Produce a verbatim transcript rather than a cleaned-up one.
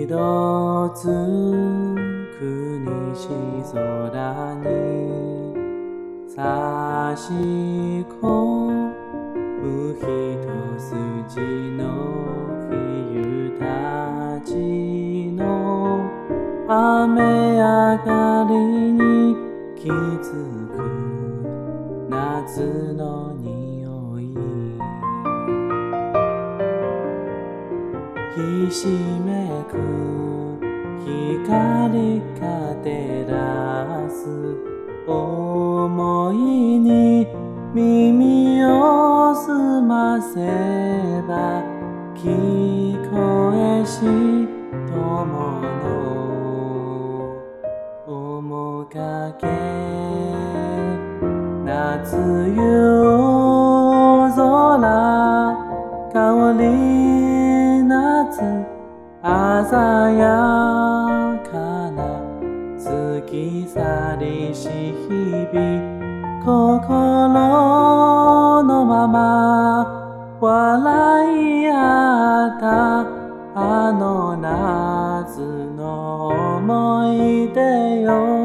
色づく西空に差し込む一筋の冬たちの雨上がりに気づく夏の匂いひしめく光が照らす想いに耳を澄ませば聞こえし友の面影夏夜空香り夏鮮やかな過ぎ去りし日々心のまま笑い合ったあの夏の思い出よ